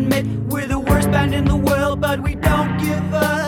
admit we're the worst band in the world, but we don't give up.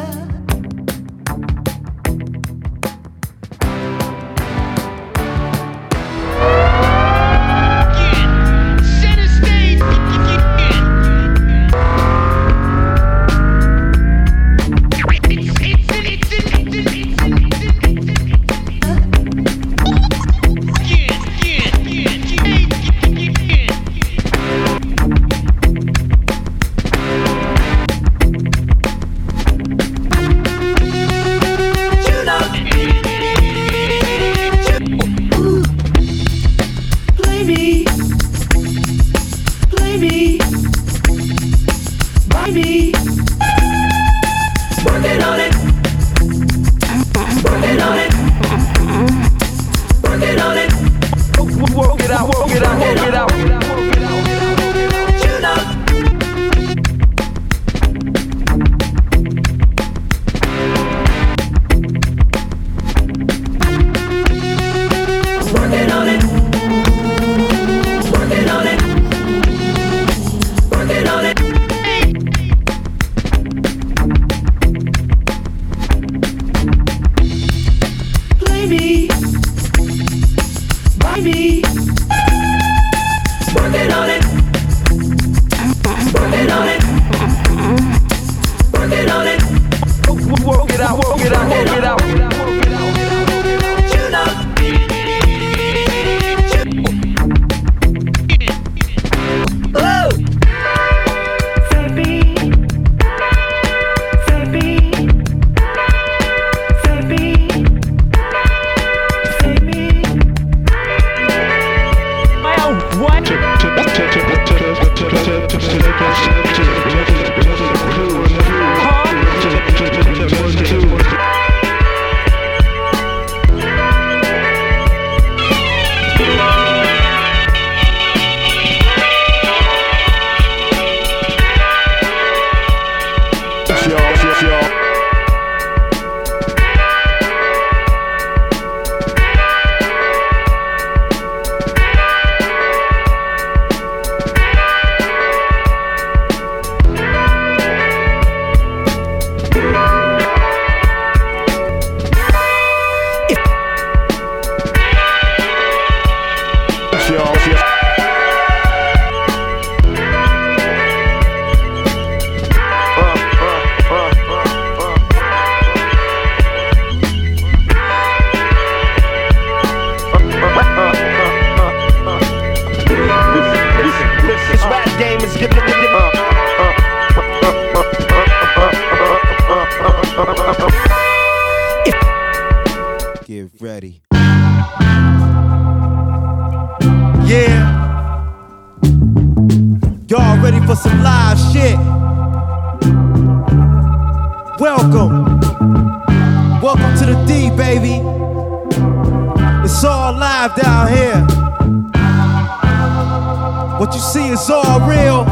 Get ready. Yeah. Y'all ready for some live shit? Welcome. Welcome to the D, baby. It's all live down here. What you see is all real.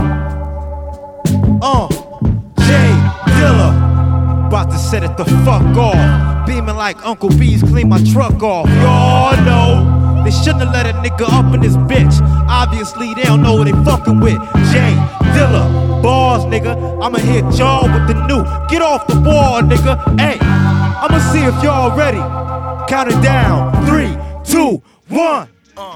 Jay Dilla. About to set it the fuck off. Beaming like Uncle B's clean my truck off. Y'all know they shouldn't have let a nigga up in this bitch. Obviously they don't know what they fucking with. Jay Dilla, bars, nigga. I'ma hit y'all with the new. Get off the wall, nigga. Hey, I'ma see if y'all ready. Count it down. 3, 2, 1.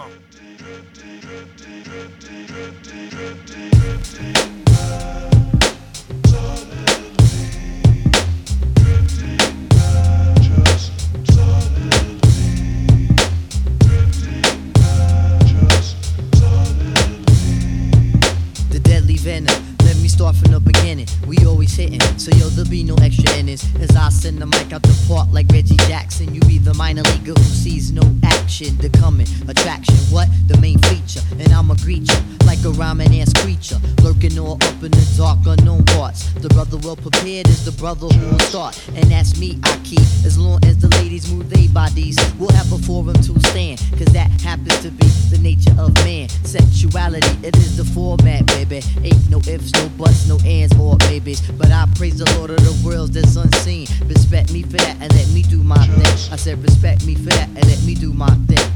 Let me start from the beginning. We always hitting, so yo, there'll be no extra innings. As I send the mic out the park like Reggie Jackson. You be the minor leaguer who sees no action. The coming attraction, what? The main feature. And I'ma greet you like a rhyming ass creature, lurking all up in the dark unknown parts. The brother well prepared is the brother who will start. And that's me, I keep. As long as the ladies move their bodies, we'll have a forum to stand. Cause that happens to be the nature of man. Sexuality, it is the format, baby. Ain't no ifs, no buts, no ands or maybes. But I praise the Lord of the worlds that's unseen. Respect me for that and let me do my thing. I said respect me for that and let me do my thing.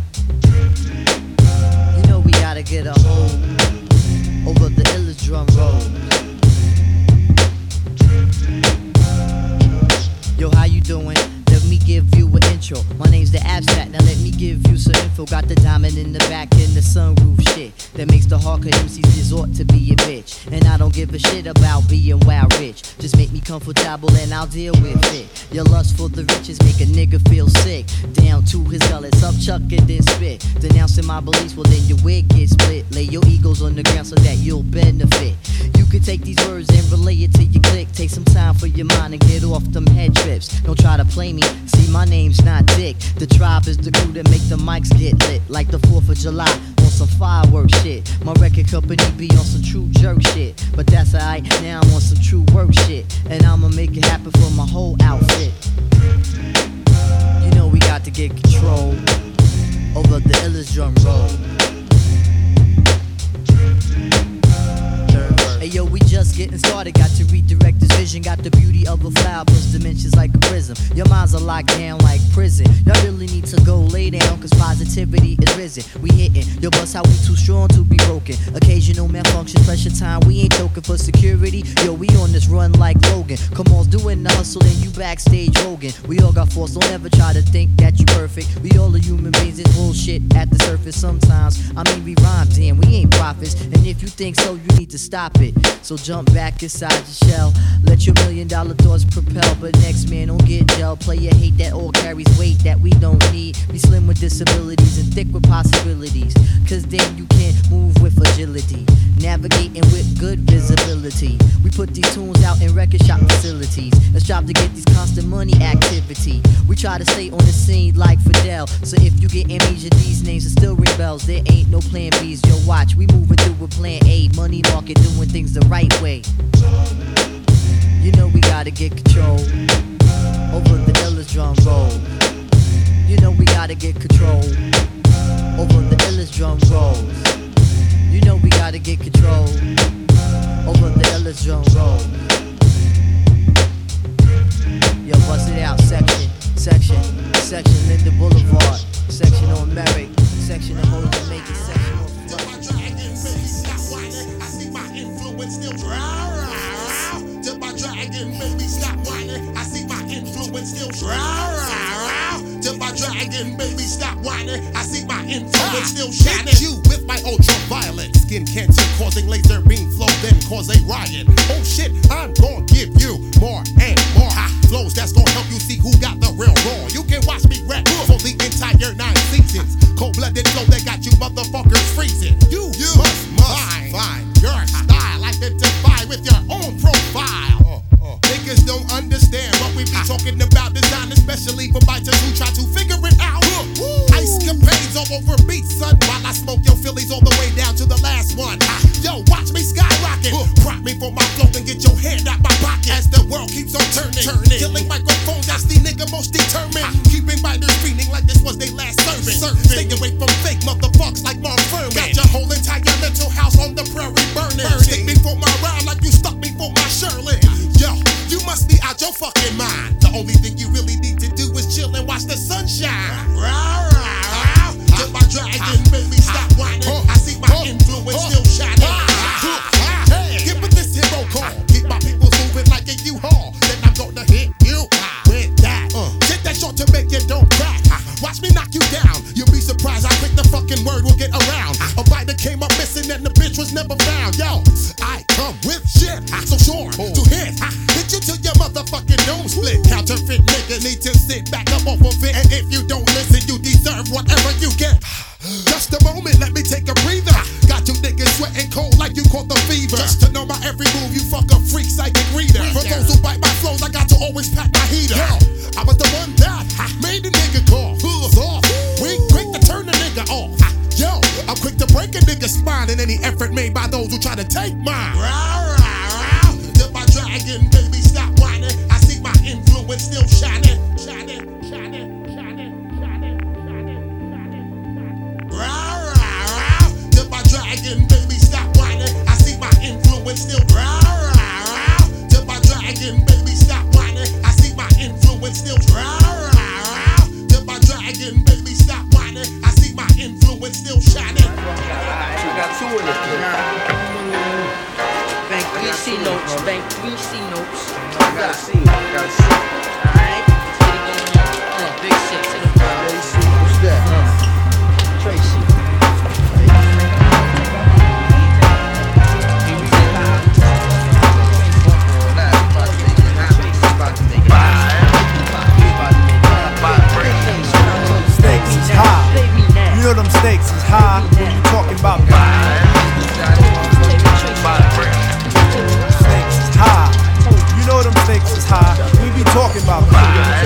You know we gotta get a hold over the illest drum roll. info, got the diamond in the back and the sunroof shit that makes the hardcore MCs resort to be a bitch. And I don't give a shit about being wild rich. Just make me comfortable and I'll deal with it. Your lust for the riches make a nigga feel sick. Down to his gullet, up chuck and then spit. Denouncing my beliefs, well then your wig gets split. Lay your egos on the ground so that you'll benefit. You could take these words and relay it to your click. Take some time for your mind and get off them head trips. Don't try to play me, see my name's not Dick. The tribe is the crew that make the mics get lit. Like the 4th of July on some fireworks shit. My record company be on some true jerk shit. But that's alright, now I'm on some true work shit. And I'ma make it happen for my whole outfit. You know we got to get control over the illest drum roll. Hey yo, we just getting started, got to redirect this vision. Got the beauty of a flower, plus dimensions like a prism. Your minds are locked down like prison. Y'all really need to go lay down, cause positivity is risen. We hitting, yo bust how we too strong to be broken. Occasional malfunctions, pressure time, we ain't choking for security. Yo, we on this run like Logan. Come on, doing the hustle and you backstage Rogan. We all got force, don't ever try to think that you perfect. We all are human beings, it's bullshit at the surface sometimes. I mean we rhyme, damn, we ain't prophets. And if you think so, you need to stop it. So jump back inside your shell. Let your $1 million thoughts propel. But next man don't get gel. Player hate that all carries weight that we don't need. Be slim with disabilities and thick with possibilities. Cause then you can move with agility. Navigating with good visibility. We put these tunes out in record shop facilities. Let's strive to get these constant money activity. We try to stay on the scene like Fidel. So if you get amnesia, these names will still ring bells. There ain't no plan B's. Yo, watch, we moving through with plan A. Money market doing things the right way. You know we gotta get control over the illest drum roll. You know we gotta get control over the illest drum rolls. You know we gotta get control over the illest drum rolls. Yo, bust it out, section, Linden Boulevard, section on Merrick, section on Old Jamaica, section on Flood. Still till my dragon make me stop whining. I see my influence still till my dragon make me stop whining. I see my influence still shining. Hit you with my ultraviolet skin cancer causing laser beam flow, then cause a riot. Oh shit, I'm gonna give you more and more hot flows that's gonna help you see who got the real raw. You can watch me rap for the entire 9 seasons. Cold-blooded flow that got you motherfuckers freezing. You must find your style. Identify with your own profile. Niggas don't understand what we be talking about design, especially for biters who try to figure it out. Ice capades all over beats, son, while I smoke your Phillies all the way down to the last one. Yo, watch me skyrocket. Prop me for my flow and get your hand out my pocket as the world keeps on turning. Killing microphones, that's the nigga most determined. Keeping biters feeling like this was their last serving. Stay away from fake motherfuckers like Mark Furman. Got your whole entire mental house on the prairie burning. Stick me for my rhyme like you stuck me for my Shirley. Yo, you must be out your fucking mind. The only thing you really need to do is chill and watch the sunshine. Till my dragon make me stop whining. I see my influence still shining. Give me this hero call. Keep my people moving like a U-Haul. Then I'm gonna hit you with that. Take that short to make it don't crack. Watch me knock you down. You'll be surprised how quick the fucking word will get around. A biter came up missing and the bitch was never found. Yo, I come with shit, so sure to hit. Hit you till your motherfucking nose split. Counterfeit niggas need to sit back up off of it. And if you don't listen, you deserve whatever you get. Just a moment, let me take a breather. Got you niggas sweating cold like you caught the fever. Just to know my every move, you fuck a freak psychic reader. For those who bite my flows, I got to always pack my heater. Yo, I was the one that made the nigga call. Off. We quick to turn the nigga off. Yo, I'm quick to break a nigga's spine in any effort made by those who try to take mine. Till my dragon baby stop whining. I see my influence still shining. Till my dragon baby stop whining. I see my influence still. Till my dragon baby stop whining. I see my influence still. Till my dragon baby stop whining. I see my influence still shining. You got two in it. Bank 3C notes, bank 3C notes. Gotta see it. Alright, let's get it going on. Big 6 in the What's that? about the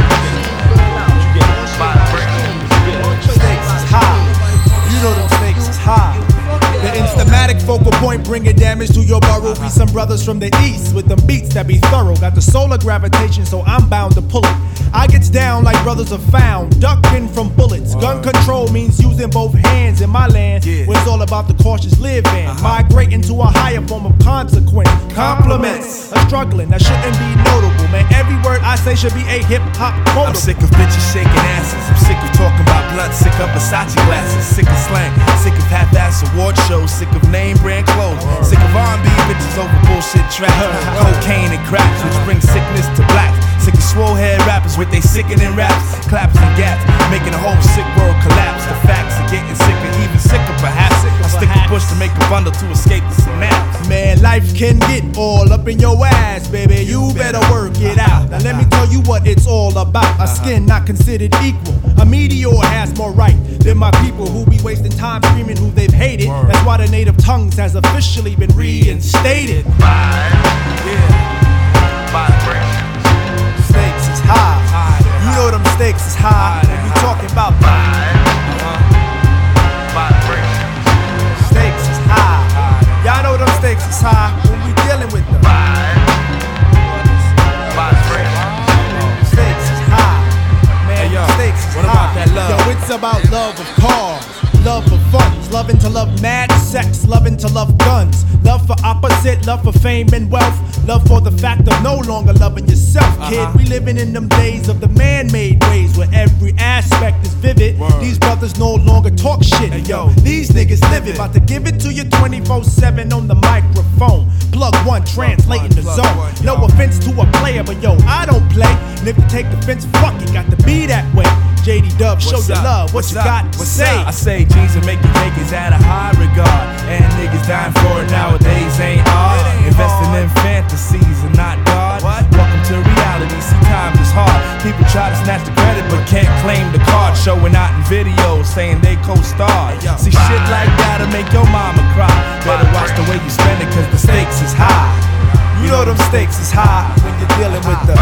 stakes is high. You know them stakes is high. The instamatic focal point bringing damage to your burrow. Be some brothers from the east with them beats that be thorough. Got the solar gravitation, so I'm bound to pull it. I gets down like brothers are found, ducking from bullets. Gun control means using both hands in my land, where it's all about the cautious living. Migrating to a higher form of consequence. Compliments are struggling, that shouldn't be notable. Man, every word I say should be a hip-hop quote. I'm sick of bitches shaking asses. I'm sick of talking about blunt. Sick of Versace glasses. Sick of slang. Sick of half-ass award shows. Sick of name brand clothes. Sick of R&B bitches over bullshit tracks. Cocaine and cracks, which brings sickness to blacks. Sick of swole head rappers with they sickening raps, claps and gaps, making the whole sick world collapse. The facts are getting sicker, even sicker perhaps. I stick a push to make a bundle to escape the synapse. Man, life can get all up in your ass, baby. You better work it out. Now let me tell you what it's all about. A skin not considered equal. A meteor has more right than my people who be wasting time screaming who they've hated. That's why the native tongues has officially been reinstated. Stakes is high. You know them stakes is high. When we talking about stakes is high. Y'all know them stakes is high when we dealing with them. Stakes is high. Man, stakes is what high. about that love? Yo, it's about love of cars, love for funds, loving to love mad sex, loving to love guns, love for opposite, love for fame and wealth, love for the fact of no longer loving yourself, kid. We living in them days of the man-made ways where every aspect is vivid. These brothers no longer talk shit, yo. These niggas live it, about to give it to you 24/7 on the microphone. Plug one, translating the zone. No offense to a player, but yo, I don't play. And if you take offense, fuck it, got to be that way. JD Dub, show your love, what you got to say? I say jeans and make the cake is at a high regard, and niggas dying for it nowadays ain't hard. Investing in fantasies and not God. Welcome to reality, see times is hard. People try to snatch the credit but can't claim the card. Showing out in videos saying they co-starred. See shit like that'll make your mama cry. Better watch the way you spend it cause the stakes is high. You know them stakes is high when you're dealing with the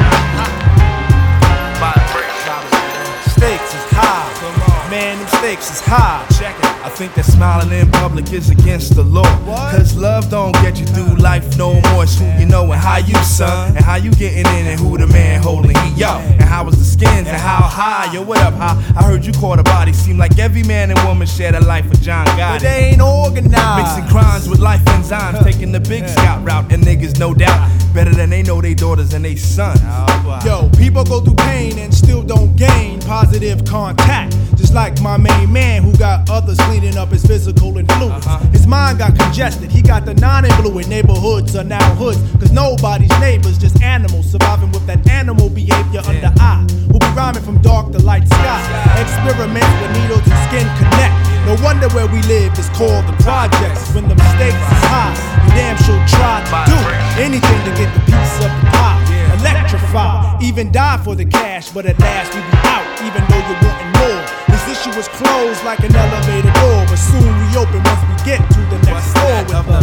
stakes is high. Man, them stakes is high. Check it. I think that smiling in public is against the law. Cause love don't get you through life no more. It's who you know and how you son, and how you getting in and who the man holding he yo. And how was the skins and how high, yo what up high? I heard you caught a body, seem like every man and woman shared a life with John Gotti. But they ain't organized. Mixing crimes with life enzymes, taking the big scout route. And niggas no doubt better than they know they daughters and they sons. Yo, people go through pain and still don't gain positive contact. Just like my main man who got others cleaning up his physical influence. His mind got congested, he got the non-influent. Neighborhoods are now hoods, cause nobody's neighbors, just animals surviving with that animal behavior under eye. Who be rhyming from dark to light sky. Experiments with needles and skin connect. No wonder where we live is called the projects. When the stakes is high, you damn sure try to do anything to get the piece of the pie. Electrify, even die for the cash, but at last we be out, even though you're wanting more. This issue was closed like an elevator door, but soon we open once we get to the next floor with the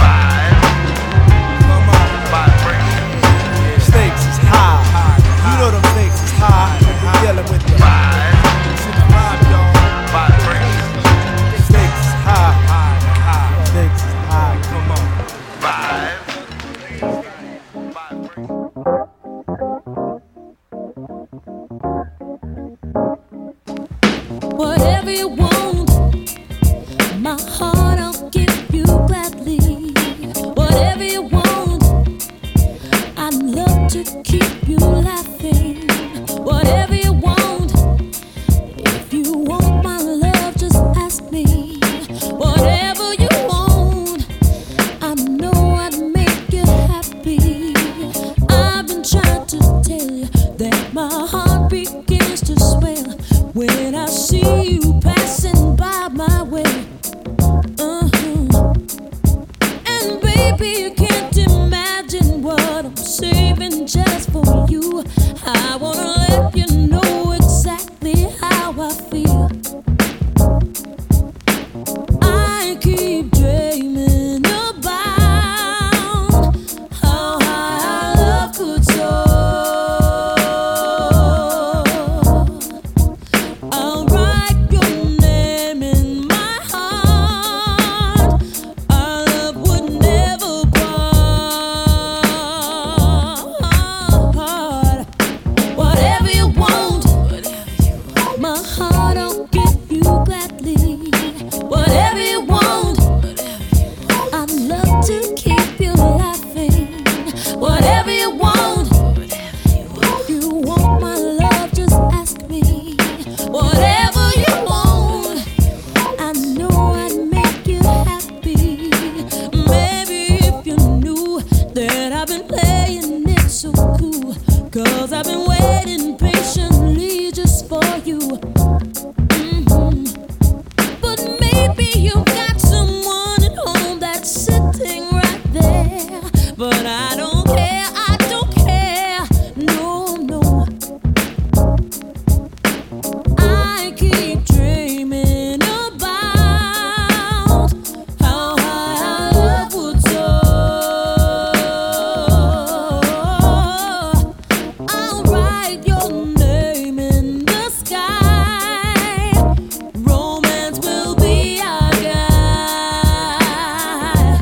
stakes is high. You know them stakes is high when we're dealing with the stakes is high. Stakes is high. Come on. Whatever you want, my heart I'll give you gladly. Whatever you want, I'd love to keep you laughing. Whatever you want, if you want my love, just ask me. Whatever you want, I know I'd make you happy. I've been trying to tell you that my heart begins to swell when I see you passing by my way. And baby, you can't imagine what I'm saving just for you. I wanna let you know exactly how I feel. I keep dreaming about how high our love could soar. I've been playing it so cool, 'cause I've been waiting patiently just for you. But maybe you've got someone at home that's sitting right there. But I don't care, I don't care, no, no. I keep dreaming about how high our love would soar. I'll write your name in the sky. Romance will be our guide.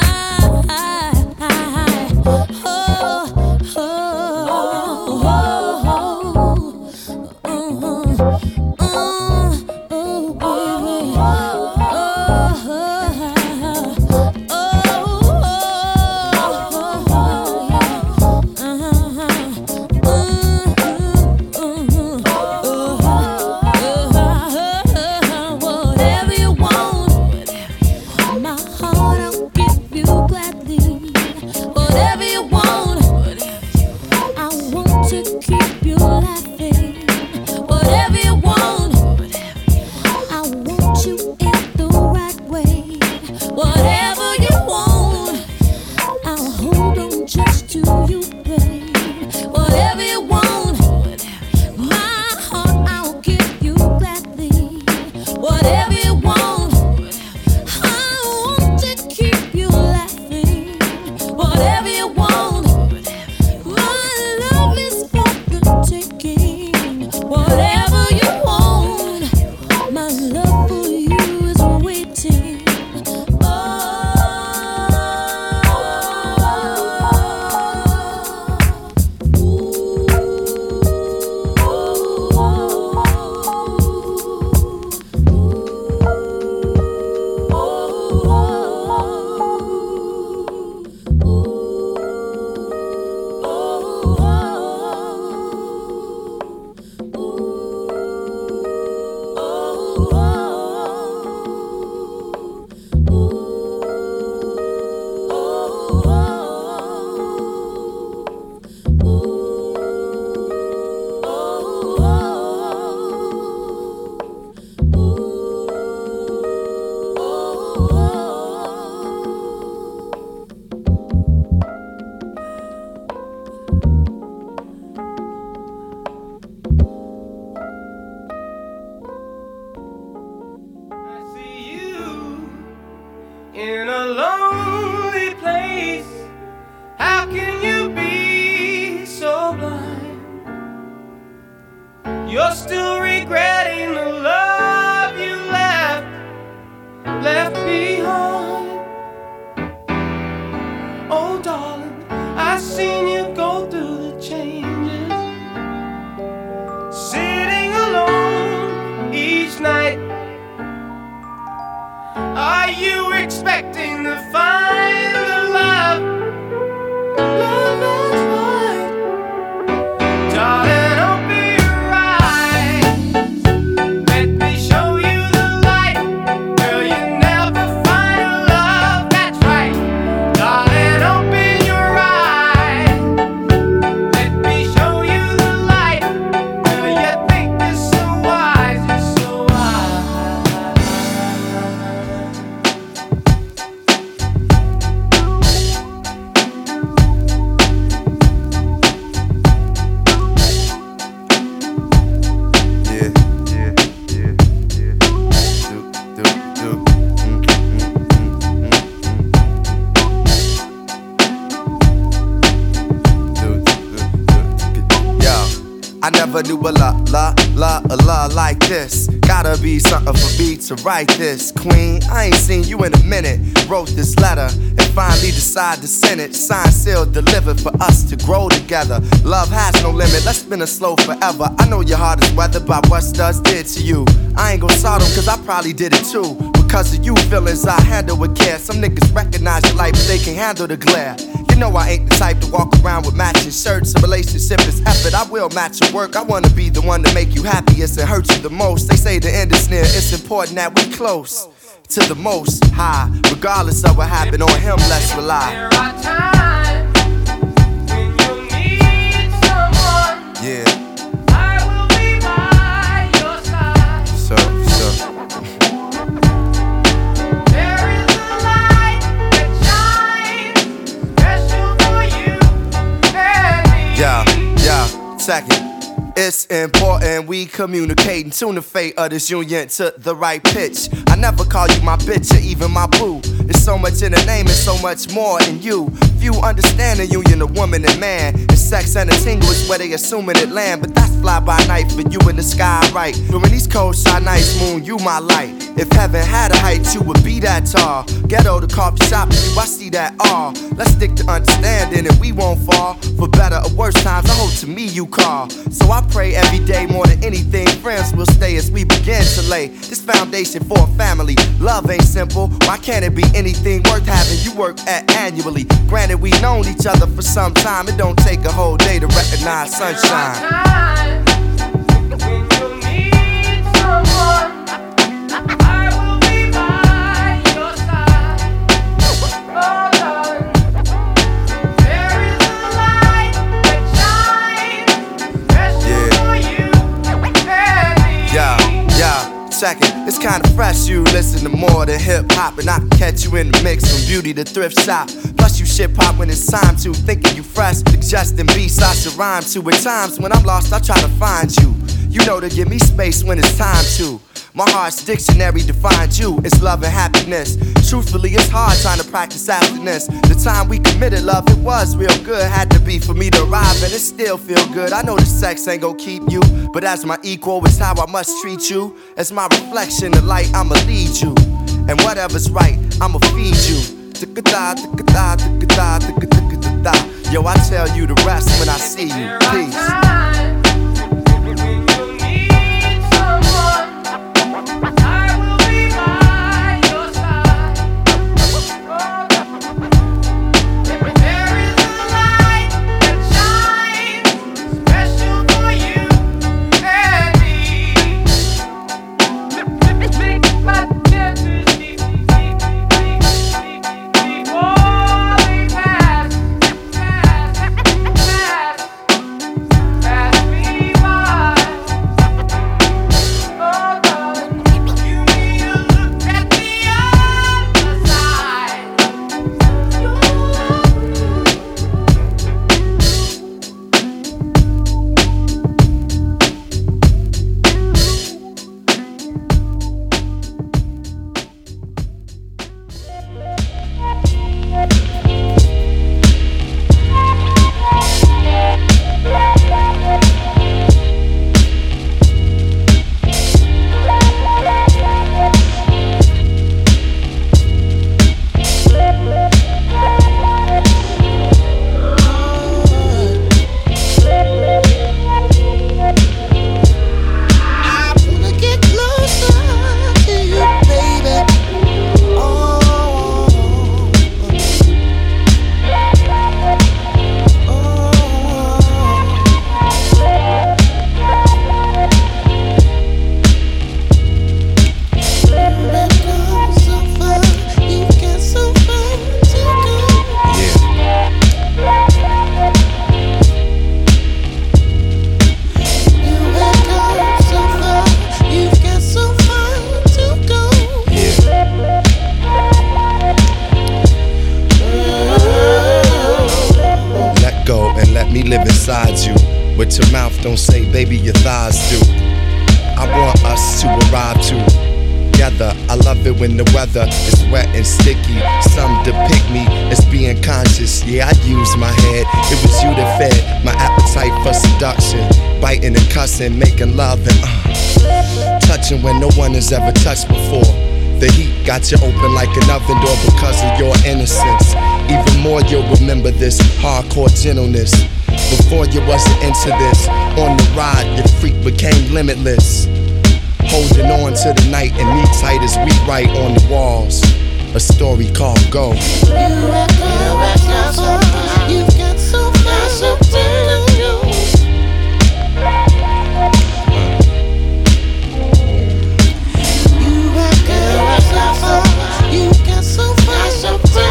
Whatever you want, my heart I'll give you gladly. Whatever you want, I want to keep you laughing. Whatever you want, I want you in the right way. Whatever you want, I'll hold on just to you, babe. Whatever you want, my heart I'll give you gladly. Whatever you want, I want to keep you laughing. Whatever you want, my love is for the taking. Whatever you want, my love for you is waiting. In a lonely place, how can you be so blind? You're still regretting the love you left behind. Oh darling, I've seen you go through the changes, sitting alone each night. Are you expecting to find the love that's right? Darling, open your eyes. Let me show you the light. Girl, you never find a love that's right. Darling, open your eyes. Let me show you the light. Girl, you think you're so wise, you're so wise. I never knew a la like this. Gotta be something for me to write this. Queen, I ain't seen you in a minute. Wrote this letter and finally decided to send it. Signed, sealed, delivered for us to grow together. Love has no limit, let's spin it slow forever. I know your heart is weathered by what studs did to you. I ain't gon' salt them cause I probably did it too. Because of you feelings I handle with care. Some niggas recognize your light but they can't handle the glare. You know I ain't the type to walk around with matching shirts. A relationship is effort, I will match your work. I wanna be the one to make you happiest and hurt you the most. They say the end is near, it's important that we close to the most high. Regardless of what happened on him, let's rely. There are times Second, it's important we communicate and tune the fate of this union to the right pitch. I never call you my bitch or even my boo. There's so much in the name and so much more in you. Few understand the union of woman and man. And sex and a tingle is where they assuming it land. But that's fly by night for you in the sky, right? During these cold shy nights, moon, you my light. If heaven had a height, you would be that tall. Ghetto to coffee shop, you, I see that all. Let's stick to understanding and we won't fall. For better or worse times, I hope to me you call. So I pray every day more than anything, friends will stay as we begin to lay this foundation for a family. Love ain't simple, why can't it be anything worth having you work at annually? Granted, we known each other for some time, it don't take a whole day to recognize sunshine. Second, it's kinda fresh, you listen to more than hip-hop. And I can catch you in the mix from beauty to thrift shop. Plus you shit pop when it's time to, thinking you fresh. Suggesting beats I should rhyme to. At times when I'm lost, I try to find you. You know to give me space when it's time to. My heart's dictionary defines you, it's love and happiness. Truthfully, it's hard trying to practice abstinence. The time we committed love, it was real good. Had to be for me to arrive and it still feel good. I know the sex ain't gon' keep you, but as my equal, it's how I must treat you. As my reflection, the light, I'ma lead you. And whatever's right, I'ma feed you. Yo, I tell you the rest when I see you. Peace. What your mouth don't say, baby, your thighs do. I want us to arrive together. I love it when the weather is wet and sticky. Some depict me as being conscious. Yeah, I use my head. It was you that fed my appetite for seduction. Biting and cussing, making love and touching when no one has ever touched before. The heat got you open like an oven door because of your innocence. Even more, you'll remember this hardcore gentleness. Before you wasn't into this, on the ride, your freak became limitless. Holding on to the night and me tight as we write on the walls. A story called Go. You got so much to do. You got so much to do.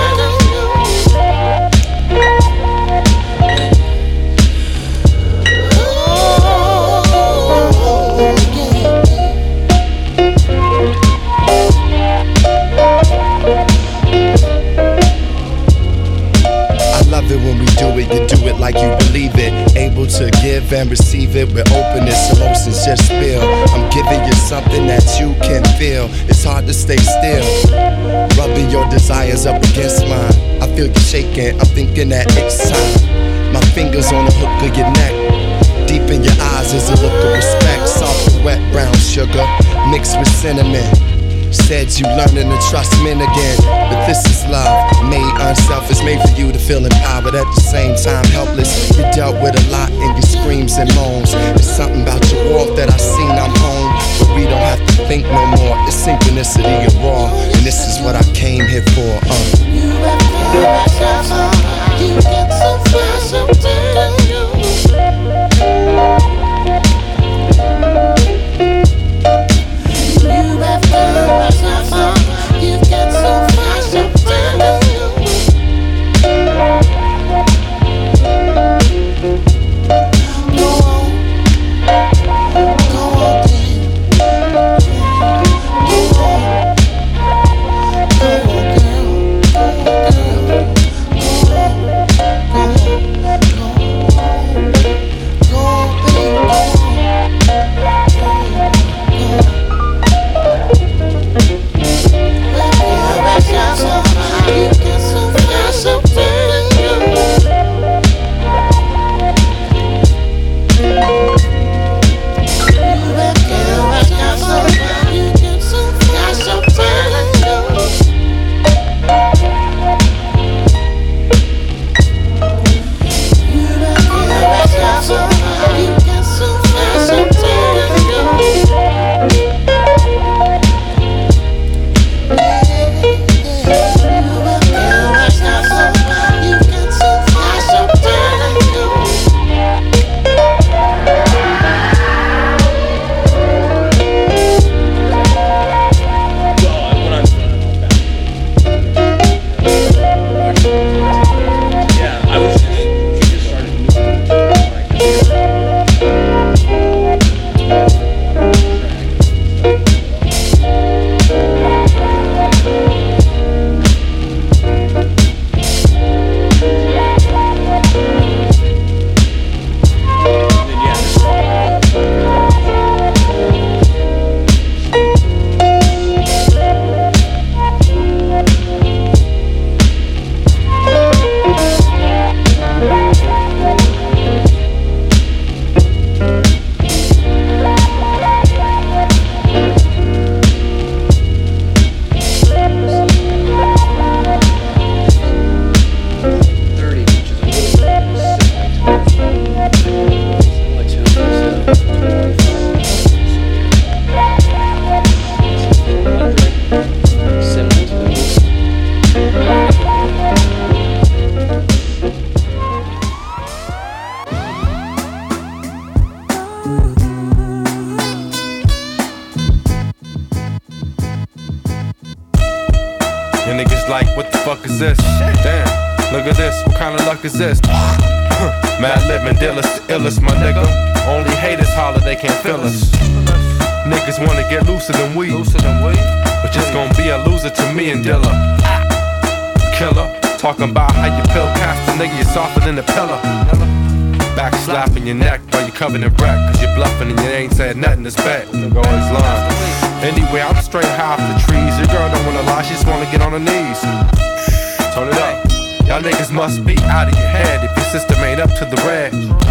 When we do it, you do it like you believe it. able to give and receive it with openness. Emotions just spill. I'm giving you something that you can feel. It's hard to stay still. Rubbing your desires up against mine. I feel you shaking, I'm thinking that it's time. My fingers on the hook of your neck. Deep in your eyes is a look of respect. Soft and wet brown sugar mixed with cinnamon. Said you learning to trust men again. But this is love, made unselfish. Made for you to feel empowered, at the same time helpless. You dealt with a lot in your screams and moans. There's something about your walk that I seen, I'm home. But we don't have to think no more. It's synchronicity and raw. And this is what I came here for. You have got you get so fast, I'm telling you. You have got you get so fast, I'm telling you. Go on, babe. Go on, And niggas like, what the fuck is this? Damn, look at this, what kind of luck is this? Mad Lib and Dillis, the illest, my nigga. Only haters holler, they can't feel us. Niggas wanna get looser than we, but just gon' be a loser to me and Dilla. Killer, talking about how you pill cast a nigga, you're softer than a pillar. Back slapping your neck while you covered in wreck, cause you're bluffing and you ain't said nothing that's bad. Nigga always lying. Anyway, I'm straight high off the trees. Your girl don't wanna lie, she just wanna get on her knees. Turn it up. Y'all niggas must be out of your head if your system ain't up to the red.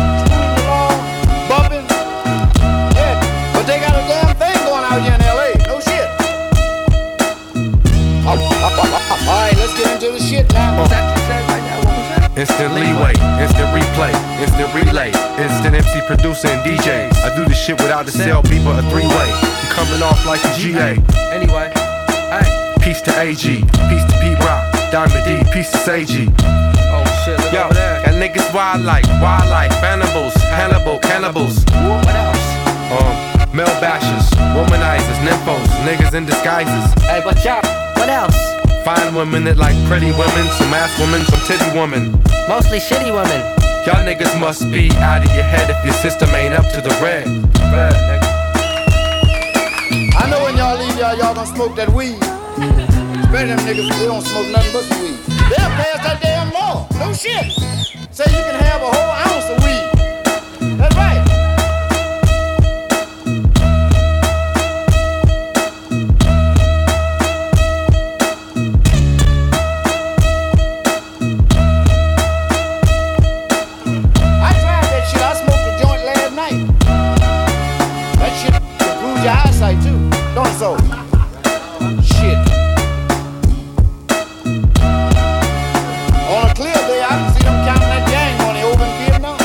Bumping? Yeah, but they got a damn thing going out here in LA. No shit. Alright, let's get into the shit now. What's that you said right now? What was that? Instant leeway, instant replay, instant relay, instant MC producer and DJ. I do this shit without the sell people a three-way. You coming off like a GA. Anyway, hey. Peace to AG, peace to Pete Rock, Diamond D, peace to Seiji. Oh shit, look Yo, over there. got niggas wildlife, animals, Hannibal, cannibals. What else? Male bashers, womanizers, nymphos, niggas in disguises. Hey, watch out. What else? Fine women that like pretty women, some ass women, some titty women. Mostly shitty women. Y'all niggas must be out of your head if your system ain't up to the red. I know when y'all leave y'all gonna smoke that weed. Better them niggas, they don't smoke nothing but some weed. They'll pass that damn law. No shit. Say you can have a whole ounce of weed. tight too. Don't it so? Shit. On a clear day, I can see them counting that gang money over in Vietnam.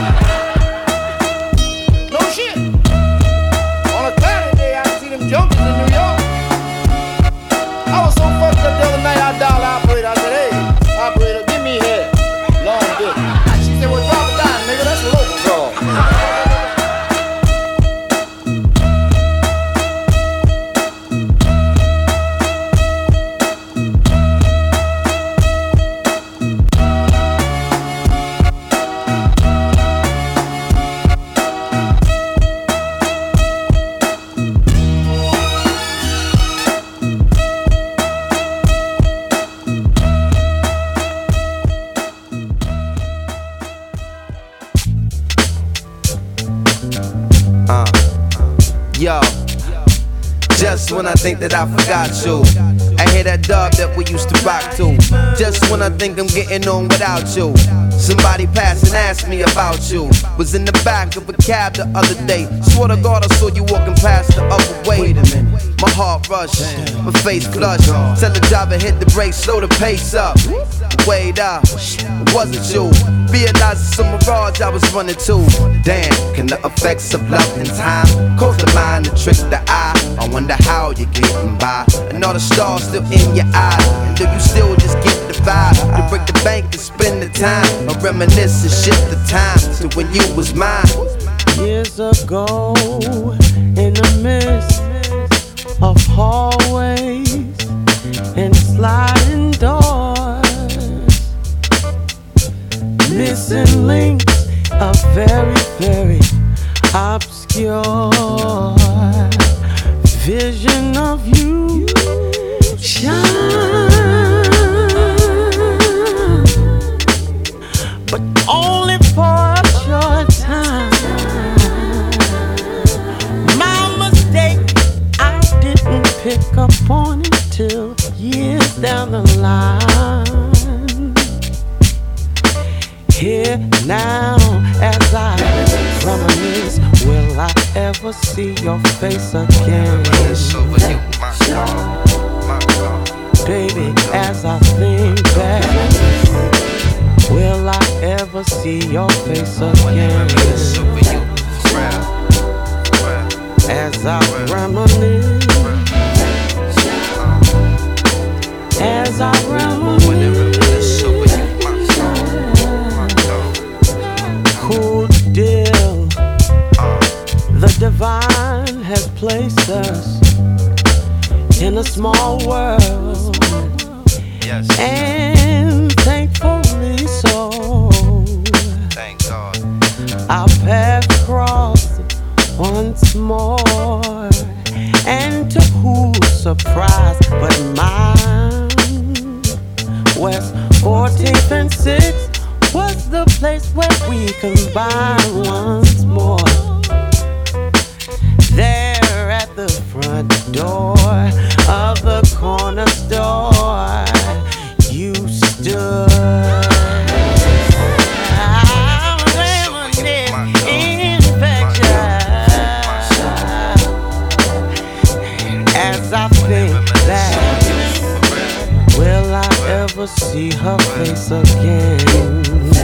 No shit. On a cloudy day, I can see them junkies in New York. I was so fucked up the other night, I dialed the operator. I said, hey, operator, give me head. Long dick. She said, well, drop it down, nigga. That's a local draw. Yo, just when I think that I forgot you, I hear that dub that we used to rock to. Just when I think I'm getting on without you, somebody passed and asked me about you. Was in the back of a cab the other day. Swear to God I saw you walking past the other way. Wait a minute, my heart rushed, my face flushed. Tell the driver hit the brakes, slow the pace up. Wait up, it wasn't you. Realized it's a mirage I was running to. Damn, can the effects of love and time cause the mind to trick the eye? I wonder how you're getting by, and all the stars still in your eyes. And do you still just get the vibe to break the bank and spend the time, or reminisce and shift the time to when you was mine? Years ago, in the midst of hallways and sliding doors, missing links, a very, very obscure vision of you shine, but only for a short time. My mistake, I didn't pick up on it till years down the line. Here now, as I reminisce, will I ever see your face again? Baby, as I think back, will I ever see your face again? As I reminisce, as I reminisce. Cool deal, the divine has placed us in a small world, yes, and thankfully so. Thank God. Our paths cross once more, and to whose surprise but mine, West 14th and 6th was the place where we combined once more. There at the front door of the corner store, you stood. I'm reminiscing as I think back, will I ever see her face again?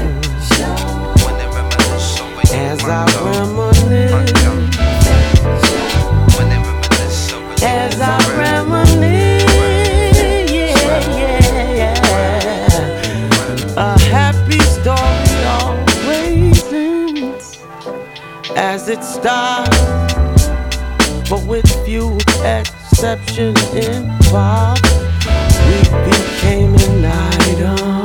As I reminisce, as I reminisce, a happy story always ends as it starts, but with few exceptions involved, we became an item.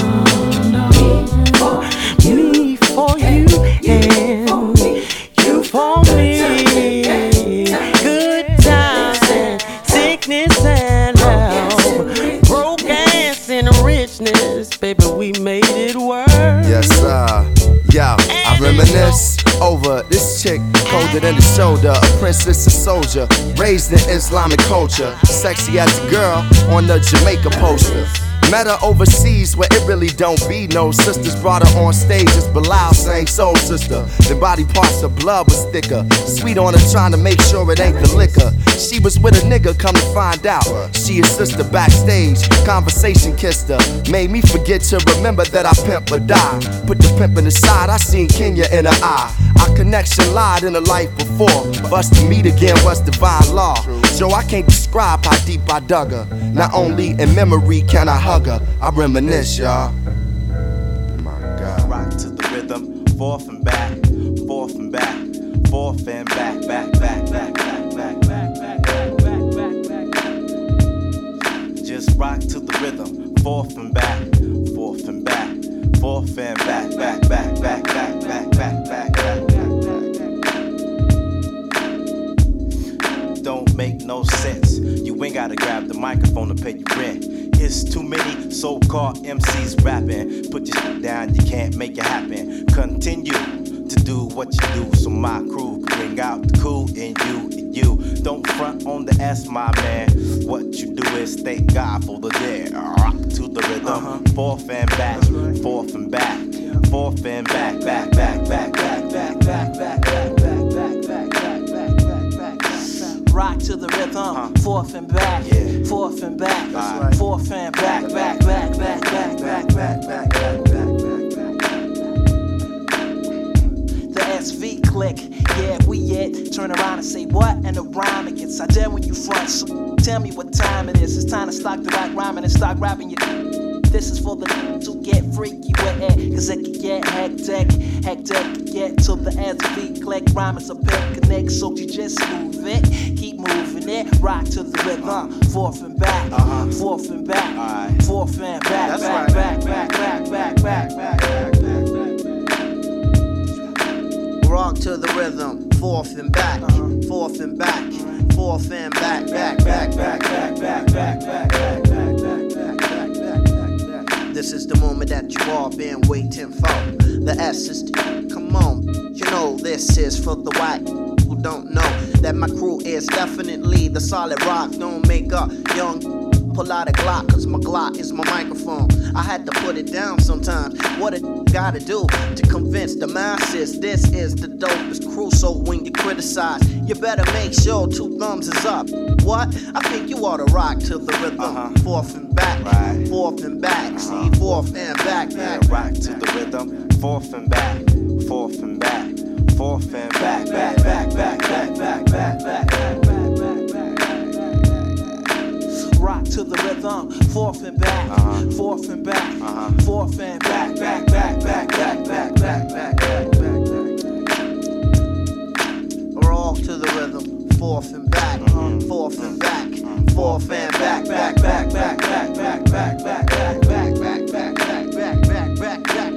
Me for you and you for me. Good times and sickness and health, brokenness and richness, baby, we made it work. Yes, sir. Yo, I reminisce over this chick, cold shoulder than the shoulder. A princess, a soldier, raised in Islamic culture. Sexy as a girl on the Jamaica poster. Met her overseas where it really don't be no sisters. Brought her on stage as Bilal sang Soul Sister. The body parts of blood was thicker. Sweet on her trying to make sure it ain't the liquor. She was with a nigga, come to find out. She his sister backstage, conversation kissed her. Made me forget to remember that I pimp or die. Put the pimpin' aside, I seen Kenya in her eye. Our connection lied in a life before. For us to meet again was divine law. So I can't describe how deep I dug her. Not only in memory can I hug her, I reminisce, y'all. My God. Rock to the rhythm, forth and back, forth and back, forth and back, back, back, back, back, back, back, back, back, back, back, back. Just rock to the rhythm, forth and back, forth and back, forth and back, back, back, back, back, back, back, back, back. Don't make no sense. You ain't gotta grab the microphone to pay your rent. It's too many so-called MCs rapping. Put your shit down, you can't make it happen. Continue to do what you do so my crew can bring out the cool in you and you. Don't front on the S, my man. What you do is thank God for the day. Rock to the rhythm, forth and back, forth and back, forth and back, back, back, back, back, back, back, back, back, back, back, back, back, back, back. Rock to the rhythm, forth and back, forth and back, forth and back, back, back, back, back, back, back, back, back, back. The SV click, yeah, we it. Turn around and say what? And the rhyme it gets. I dare when you front, so tell me what time it is. It's time to stop the rock rhyming and start rapping your. This is for the to get freaky with it, cause it can get hectic, hectic, get to the SV click. Rhyme is a picnic, so you just move it, keep moving it, rock to the rhythm, forth and back, forth and back, forth and back, back, back, back, back, back, back, back, back, back. Rock to the rhythm, forth and back, forth and back, forth and back, back, back, back, back, back, back, back, back, back. This is the moment that you all been waiting for. The S is the, come on. You know this is for the white who don't know that my crew is definitely the solid rock. Don't make up young. Pull out a Glock, cause my Glock is my microphone. I had to put it down sometimes. What it gotta do to convince the masses this is the dopest crew. So when you criticize, you better make sure 2 thumbs is up. What? I think you ought to rock to the rhythm. Forth and back, forth and back. See, forth and back, back. Rock to the rhythm, forth and back, forth and back, forth and back, back, back, back, back, back, back, back, back, back. Rock to the rhythm, forth and back, forth and back, forth and back, back, back, back, back, back, back, back, back, back. Rock to the rhythm, forth and back, forth and back, forth and back, back, back, back, back, back, back, back, back, back, back, back, back, back, back, back.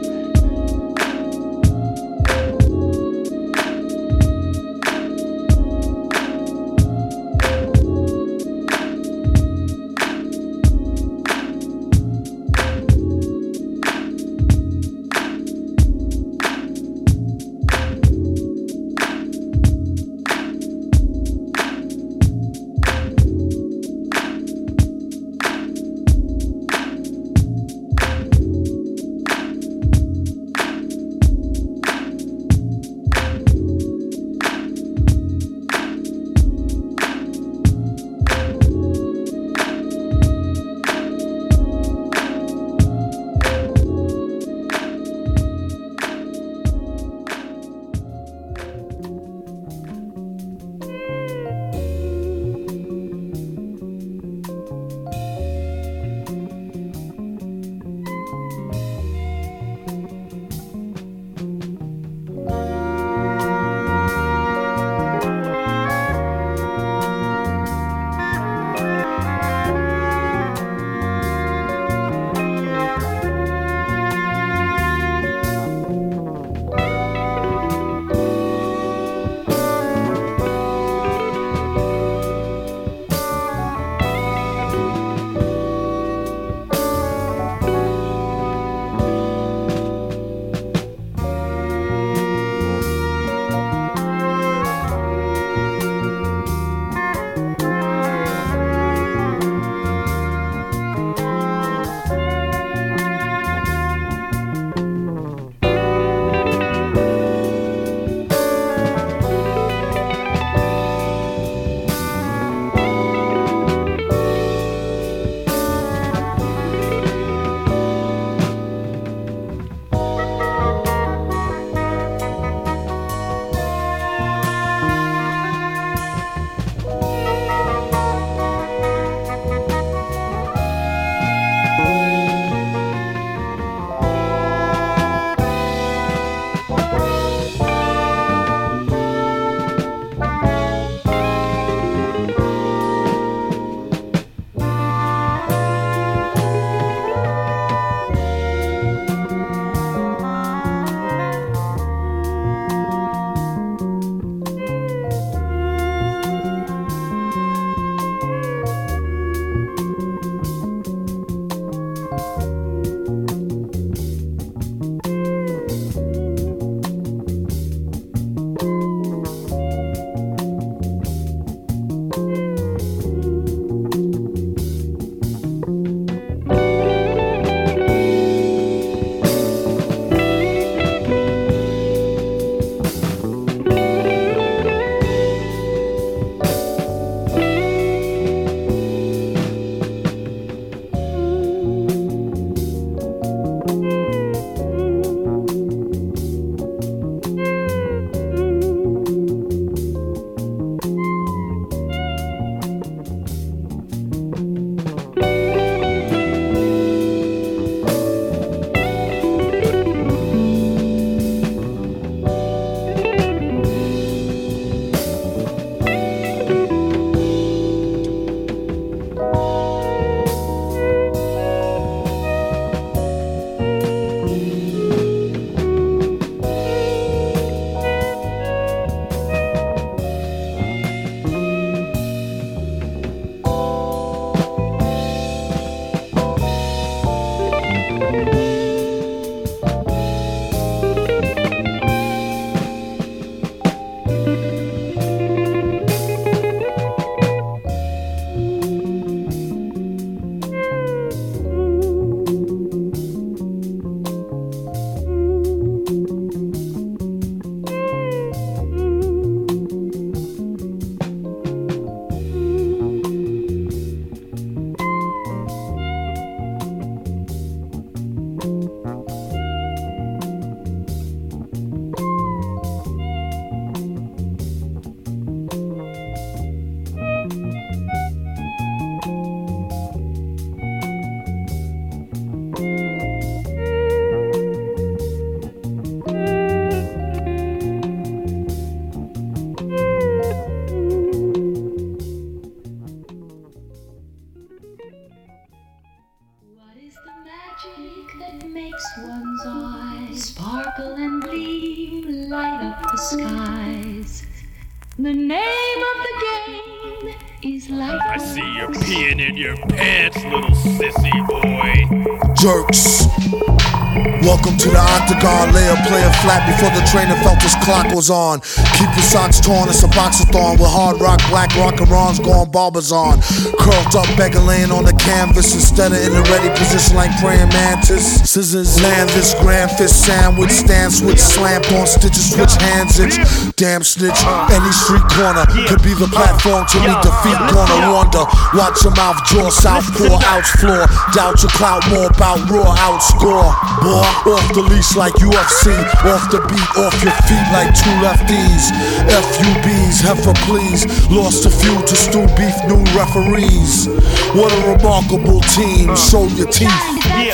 and gleam, light up the skies. The name of the game is life. I see you peeing in your pants, little sissy boy. Jerks. Welcome to the octagon, lay a player flat before the trainer felt his clock was on. Keep your socks torn, it's a boxathon with hard rock, black rock and Ron's going barbers on. Curled up, beggar laying on the canvas instead of in a ready position like praying mantis. Scissors, land this grand fist sandwich, stand switch, slammed on stitches, switch hands itch. Damn snitch, any street corner could be the platform to meet defeat. Corner wonder, watch your mouth draw, southpaw, outs floor. Doubt your clout more about raw outscore. Boy, off the leash like UFC, off the beat, off your feet like two lefties. FUBs, heifer please, lost a few to stew beef, new referees. What a remarkable team, show your teeth. The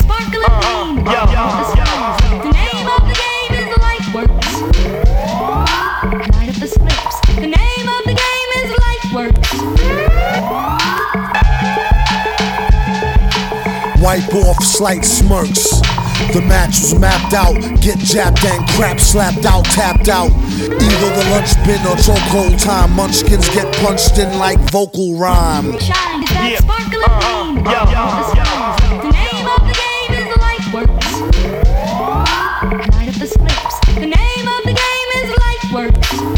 name of the game is Lightworks. Light up the slips. The name of the game is Lightworks. Wipe off slight smirks. The match was mapped out, get jabbed and crap slapped out, tapped out. Either the lunch bin or chokehold time. Munchkins get punched in like vocal rhyme. Shine is that sparkling beam. The name of the game is Lightworks. Light up the slips. The name of the game is Lightworks.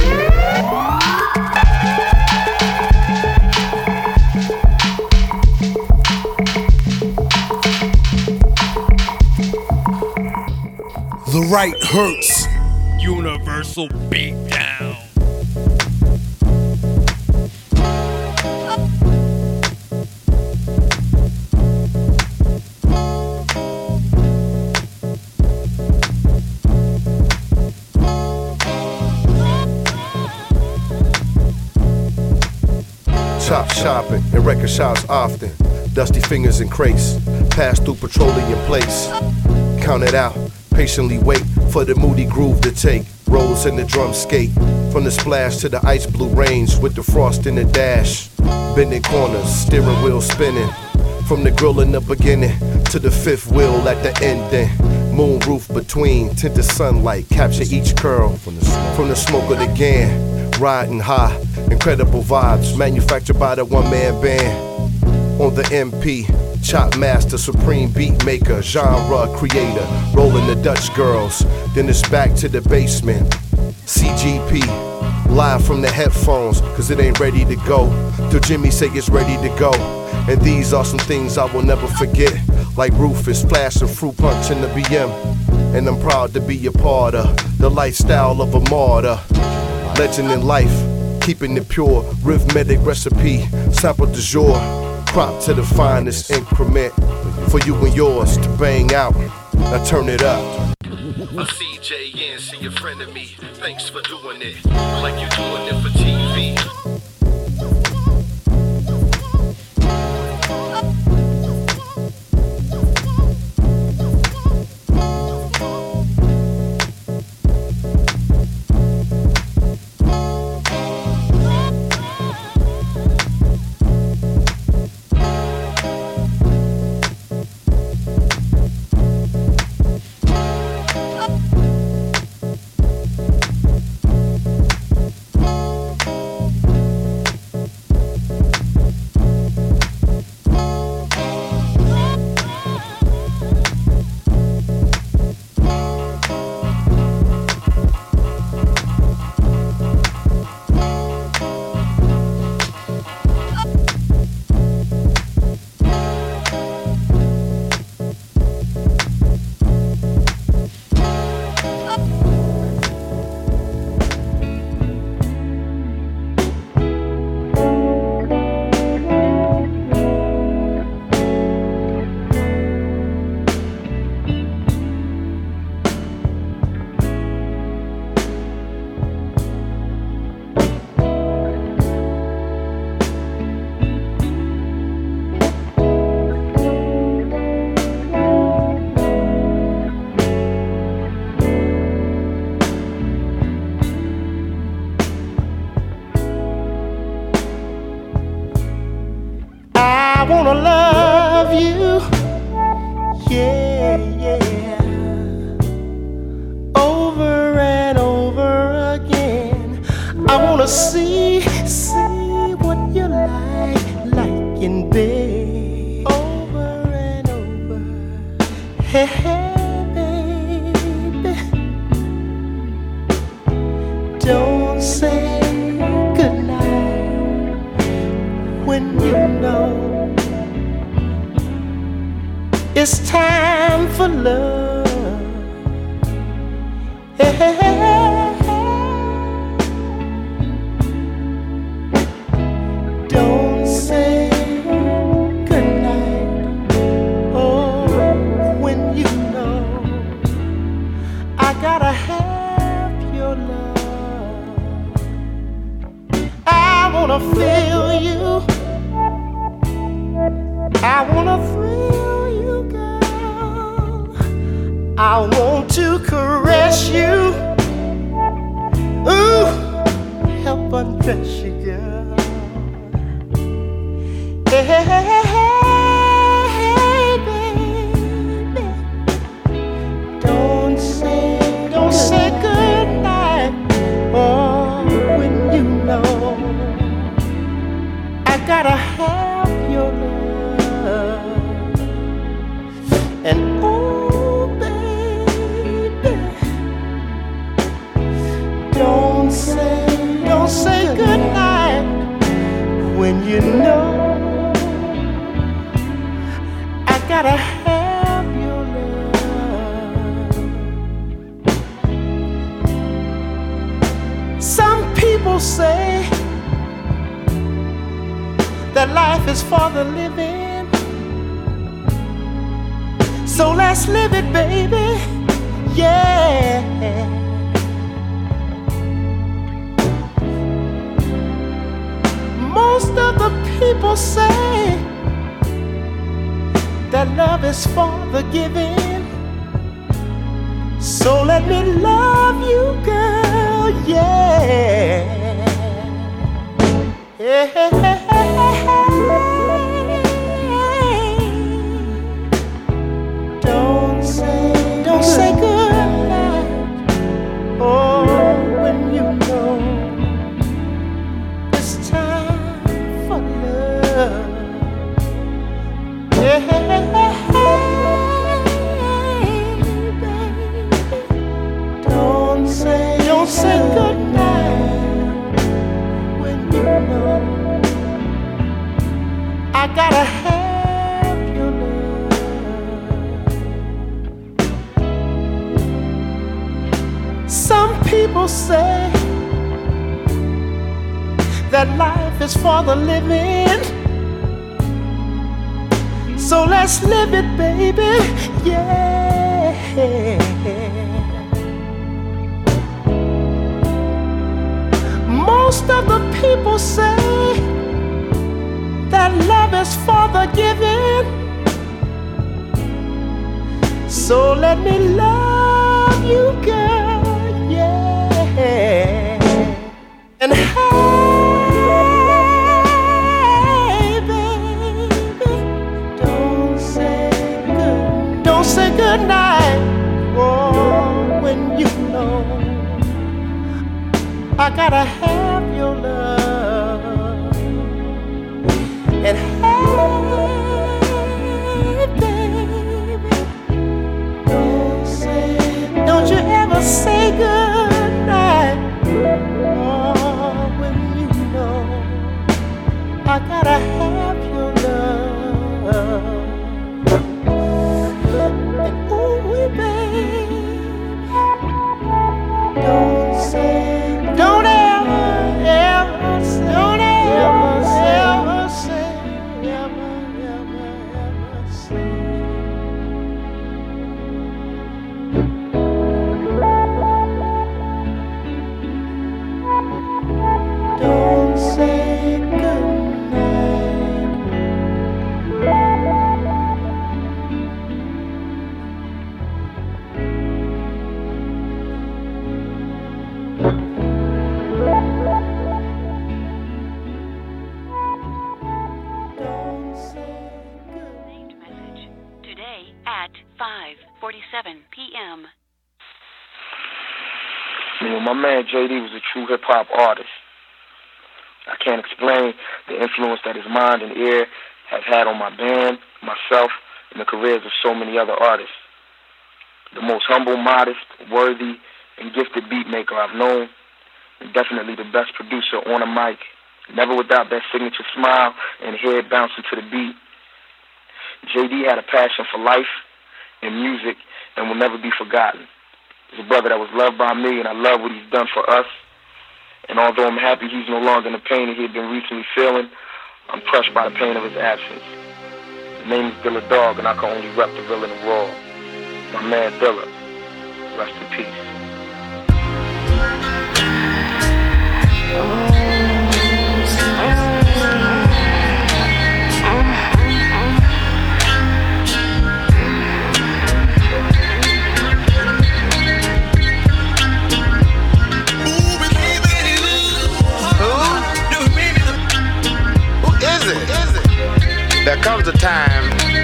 The right hurts. Universal beatdown. Chop shopping and record shops often. Dusty fingers and crates. Pass through petroleum place. Count it out. Patiently wait for the moody groove to take. Rolls in the drum skate. From the splash to the ice blue range with the frost in the dash. Bending corners, steering wheel spinning. From the grill in the beginning to the fifth wheel at the ending. Moon roof between, tinted sunlight, capture each curl. From the smoke of the gan, riding high. Incredible vibes, manufactured by the one-man band. On the MP, chop master, supreme beat maker, genre creator, rolling the Dutch girls. Then it's back to the basement. CGP, live from the headphones, cause it ain't ready to go. Till Jimmy say it's ready to go. And these are some things I will never forget. Like Rufus, flashing fruit punch in the BM. And I'm proud to be a part of the lifestyle of a martyr. Legend in life, keeping it pure, rhythmic recipe, sample du jour. Crop to the finest increment for you and yours to bang out. Now turn it up. A CJN, see a friend of me. Thanks for doing it like you're doing it for TV. I wanna love you, yeah, yeah, over I wanna see what you like in bed over and over. Hey, baby, don't say goodnight when you know it's time for love. Hey, don't say goodnight, oh, when you know I gotta have your love. I wanna feel you, I wanna thrill you, girl. I want to caress you, ooh, help undress you, girl. Hey, baby, don't say goodnight, oh, when you know I gotta have your love. And oh, baby, don't say goodnight when you know I gotta have your love. Some people say that life is for the living, so let's live it, baby, yeah. Most of the people say that love is for the giving, so let me love you, girl, yeah. Don't say goodnight, oh, when you know it's time for love. Don't say goodnight when you know I gotta have your love. Some people say that life is for the living, so let's live it, baby, yeah. Most of the people say that love is for the giving, so let me love you, girl, yeah. And hey, baby, don't say goodnight, oh, when you know I gotta have your love. And hey, baby, don't you ever say goodnight, oh, when you know I gotta have your love. And ooh, baby, don't ever say at 5:47 p.m. You know, my man JD was a true hip-hop artist. I can't explain the influence that his mind and ear has had on my band, myself, and the careers of so many other artists. The most humble, modest, worthy, and gifted beat maker I've known, and definitely the best producer on a mic, never without that signature smile and head bouncing to the beat. JD had a passion for life and music and will never be forgotten. He's a brother that was loved by me, and I love what he's done for us. And although I'm happy he's no longer in the pain that he had been recently feeling, I'm crushed by the pain of his absence. His name is Dilla Dog, and I can only rep the real and the raw. My man Dilla, rest in peace. There comes a time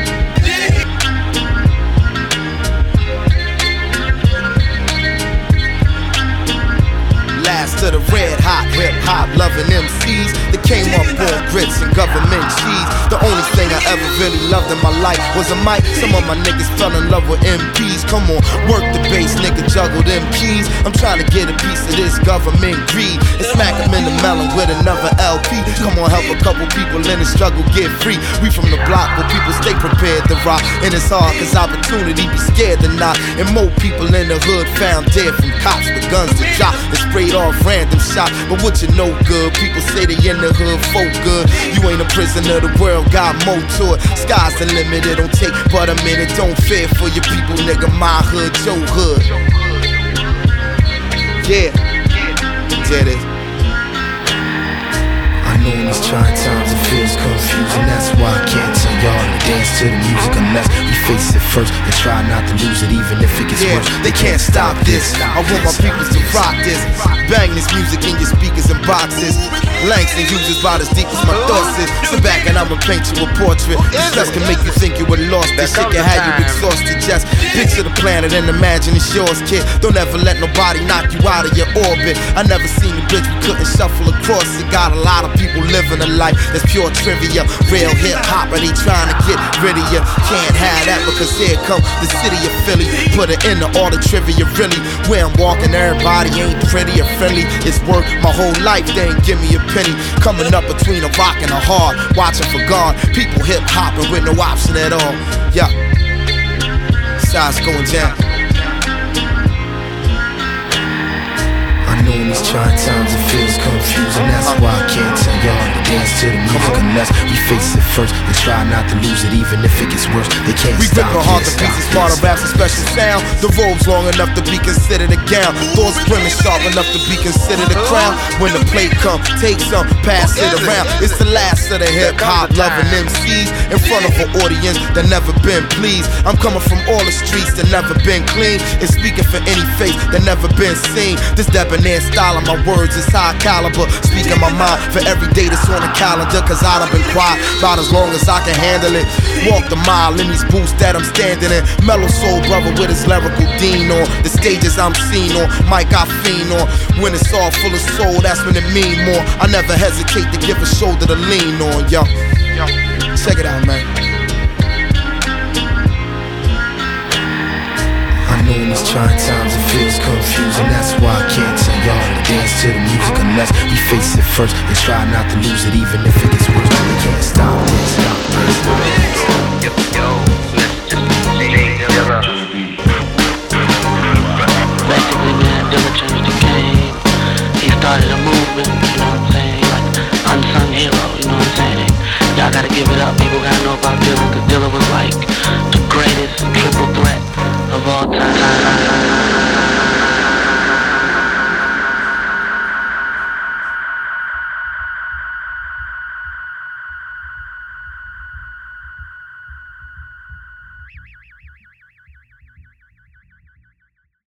last to the red hot hip hop loving MCs that came up on grits and government cheese. The only thing I ever really loved in my life was a mic. Some of my niggas fell in love with MPs. Come on, work the bass, nigga, juggle them keys. I'm trying to get a piece of this government greed and smack them in the melon with another LP. Come on, help a couple people in the struggle get free. We from the block where people stay prepared to rock, and it's hard cause opportunity be scared to knock. And more people in the hood found dead from cops with guns to drop and sprayed off random shots. But what you know good, people say they in the hood folk good. You ain't a prisoner, the world got more to it. Sky's the limit, it don't take but a minute. Don't fear for your people, nigga, my hood, your hood. Yeah, did it. I know in these trying times it feels confusing. That's why I can't tell y'all to dance to the music unless we face it first and try not to lose it, even if it gets worse. They can't stop this. I want my people to rock this. Bang this music in your speakers and boxes. Langston uses about as deep as my thoughts is. Sit back and I'ma paint you a portrait. This stress can make you think you were lost. This shit can have you exhausted. Just picture the planet and imagine it's yours, kid. Don't ever let nobody knock you out of your orbit. I never seen a bridge we couldn't shuffle across. It got a lot of people living a life that's pure trivia. Real hip hop, and they trying to get rid of you. Can't have that because here come the city of Philly. Put it in all the trivia, really. Where I'm walking, everybody ain't pretty or friendly. It's work my whole life, they ain't give me a penny. Coming up between a rock and a hard, watching for God. People hip hopping with no option at all. Yeah, sides going down. I know in these trying times it feels confusing. That's why I can't tell y'all to dance to the music unless we face it first and try not to lose it, even if it gets worse. They can't stop. We rip our heart to pieces, smarter raps, a special sound. The robe's long enough to be considered a gown. Thoughts brimming sharp enough to be considered a crown. When the plate come, take some, pass it around. It's the last of the hip hop loving MCs in front of an audience that never been pleased. I'm coming from all the streets that never been clean and speaking for any face that never been seen. This debonair style of my words is high caliber. Speaking my mind for every day that's on the calendar. Cause I done been quiet about as long as I can handle it. Walk the mile in these boots that I'm standing in. Mellow soul brother with his lyrical dean on. The stages I'm seen on, mic I fiend on. When it's all full of soul, that's when it mean more. I never hesitate to give a shoulder to lean on, yo. Check it out, man. I know in these trying times it feels confusing. That's why I can't tell y'all to dance to the music unless we face it first and try not to lose it, even if it gets worse. We can't stop this. Yo.